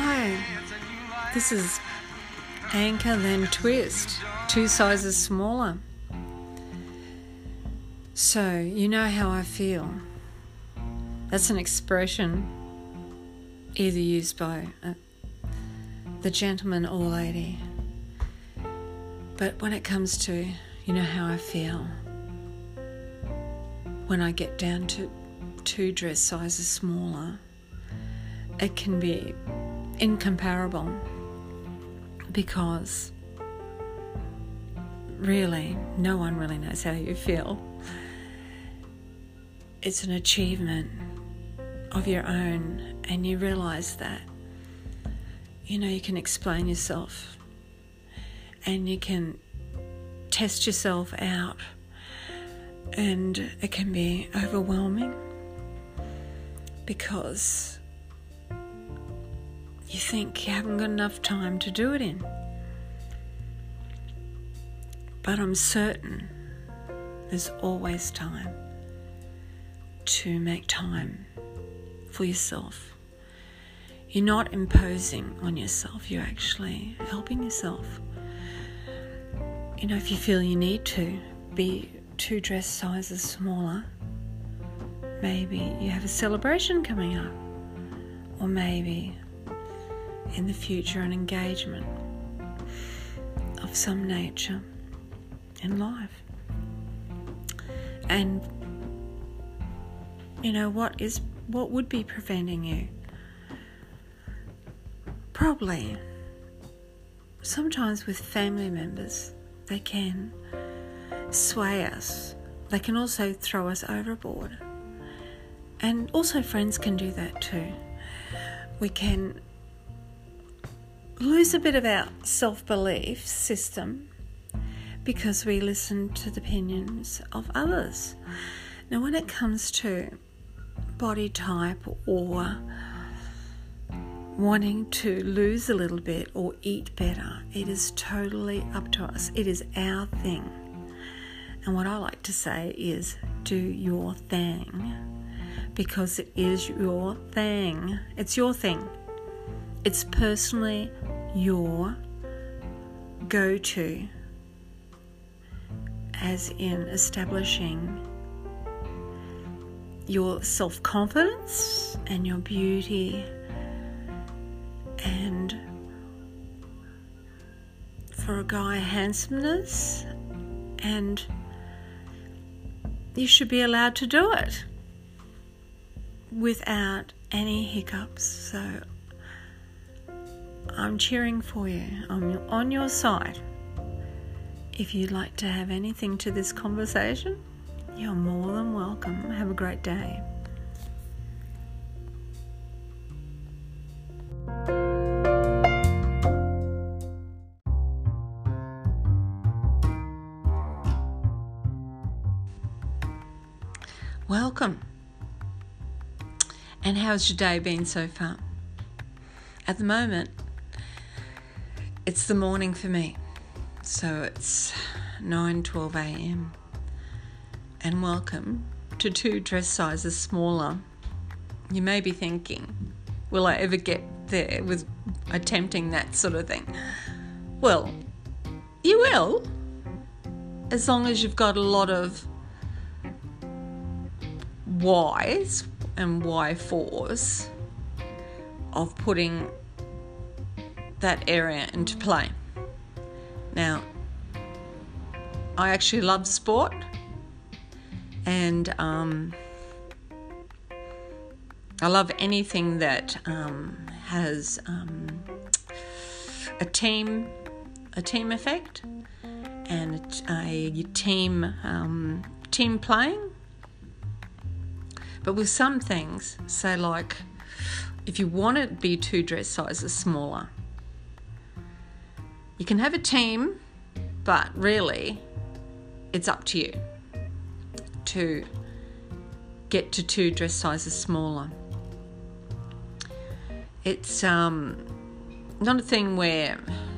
Hi, this is Anchor Then Twist, 2 sizes smaller. So, you know how I feel. That's an expression either used by the gentleman or lady. But when it comes to, you know how I feel, when I get down to 2 dress sizes smaller, it can be incomparable, because really no one really knows how you feel. It's an achievement of your own, and you realise that, you can explain yourself and you can test yourself out, and it can be overwhelming because you think you haven't got enough time to do it in. But I'm certain there's always time to make time for yourself. You're not imposing on yourself, you're actually helping yourself. If you feel you need to be 2 dress sizes smaller, maybe you have a celebration coming up, or maybe in the future an engagement of some nature in life. And what would be preventing you? Probably sometimes with family members, they can sway us. They can also throw us overboard. And also friends can do that too. We can lose a bit of our self-belief system because we listen to the opinions of others. Now, when it comes to body type or wanting to lose a little bit or eat better, it is totally up to us. It is our thing. And what I like to say is, do your thing, because it is your thing. It's your thing. It's personally your go-to, as in establishing your self-confidence and your beauty, and for a guy, handsomeness, and you should be allowed to do it without any hiccups. So I'm cheering for you. I'm on your side. If you'd like to have anything to this conversation, you're more than welcome. Have a great day. Welcome. And how's your day been so far? At the moment, it's the morning for me. So it's 9:12 a.m. and welcome to 2 dress sizes smaller. You may be thinking, will I ever get there with attempting that sort of thing? Well, you will, as long as you've got a lot of whys and why-fors of putting that area into play. Now, I actually love sport, and I love anything that has a team effect and a team playing. But with some things, say like if you want to be 2 dress sizes smaller, you can have a team, but really it's up to you to get to 2 dress sizes smaller. It's not a thing where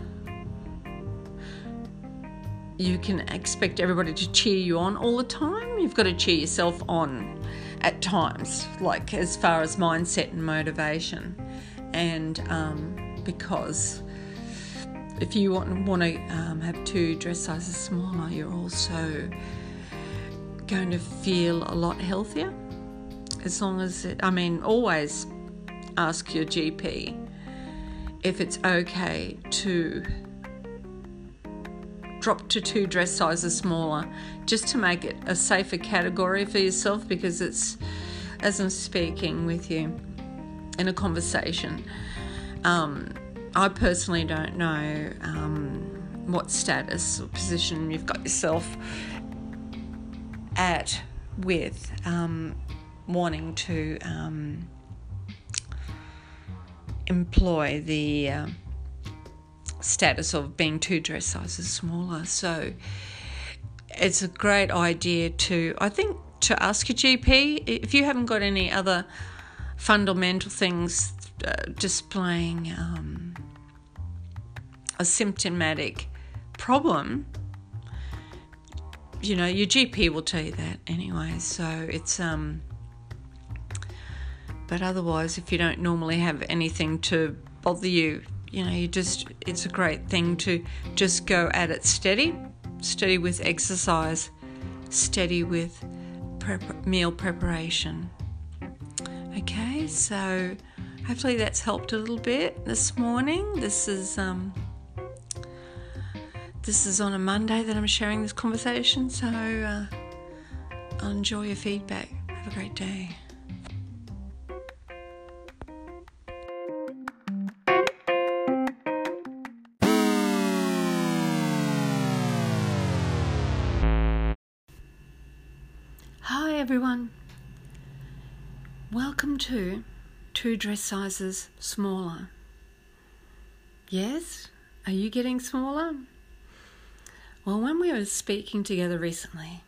you can expect everybody to cheer you on all the time. You've got to cheer yourself on at times, like as far as mindset and motivation. And because if you want to have 2 dress sizes smaller, you're also going to feel a lot healthier. As long as always ask your GP if it's okay to drop to 2 dress sizes smaller, just to make it a safer category for yourself, because it's, as I'm speaking with you in a conversation, I personally don't know what status or position you've got yourself at with wanting to employ the status of being 2 dress sizes smaller. So it's a great idea to ask your GP if you haven't got any other fundamental things displaying a symptomatic problem. Your GP will tell you that anyway. So it's but otherwise, if you don't normally have anything to bother you, it's a great thing to just go at it steady with exercise, steady with meal preparation. Okay, so hopefully that's helped a little bit this morning. This is on a Monday that I'm sharing this conversation, so I'll enjoy your feedback. Have a great day. Hi everyone, welcome to 2 dress sizes smaller. Yes, are you getting smaller? Well, when we were speaking together recently,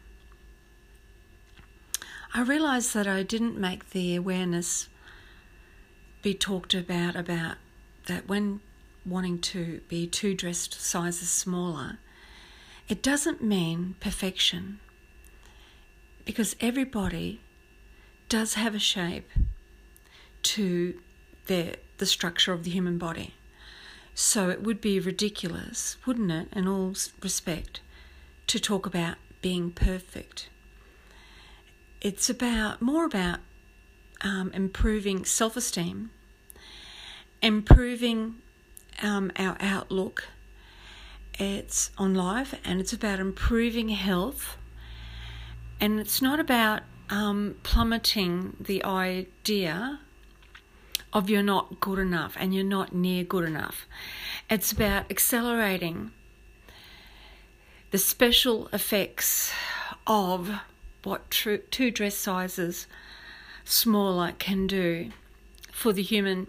I realised that I didn't make the awareness be talked about that when wanting to be 2 dress sizes smaller, it doesn't mean perfection. Because everybody does have a shape to the structure of the human body. So it would be ridiculous, wouldn't it, in all respect, to talk about being perfect. It's more about improving self-esteem, improving our outlook on life, and it's about improving health. And it's not about plummeting the idea of you're not good enough and you're not near good enough. It's about accelerating the special effects of what 2 dress sizes smaller can do for the human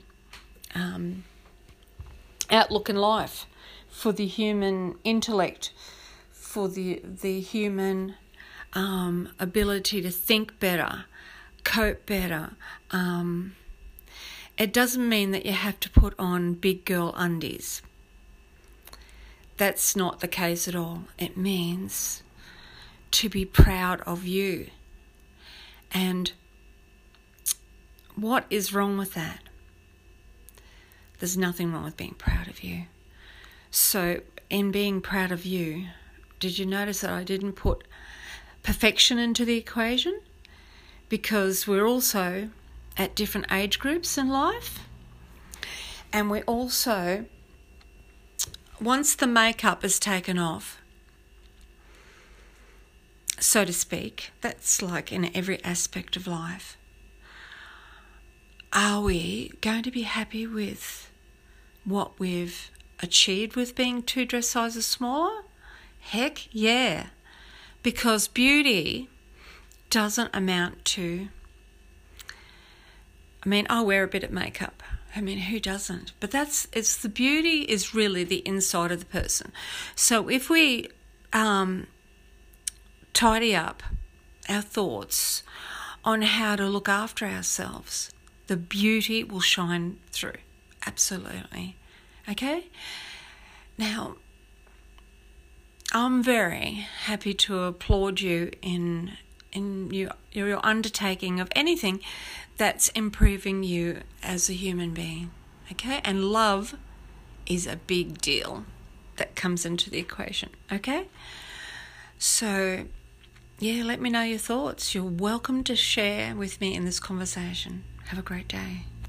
outlook in life, for the human intellect, for the human ability to think better, cope better. It doesn't mean that you have to put on big girl undies. That's not the case at all. It means to be proud of you. And what is wrong with that? There's nothing wrong with being proud of you. So in being proud of you, did you notice that I didn't put perfection into the equation? Because we're also at different age groups in life, and we also, once the makeup is taken off, so to speak, that's like in every aspect of life, are we going to be happy with what we've achieved with being 2 dress sizes smaller? Heck yeah. Because beauty doesn't amount to, I wear a bit of makeup. Who doesn't? But the beauty is really the inside of the person. So if we tidy up our thoughts on how to look after ourselves, the beauty will shine through. Absolutely. Okay? Now, I'm very happy to applaud you in your undertaking of anything that's improving you as a human being. Okay? And love is a big deal that comes into the equation. Okay? So, yeah, let me know your thoughts. You're welcome to share with me in this conversation. Have a great day.